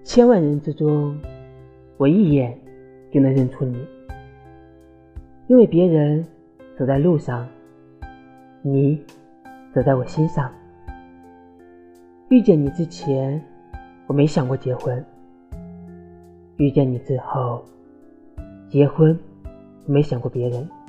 千万人之中，我一眼就能认出你，因为别人走在路上，你走在我心上。遇见你之前，我没想过结婚，遇见你之后，结婚没想过别人。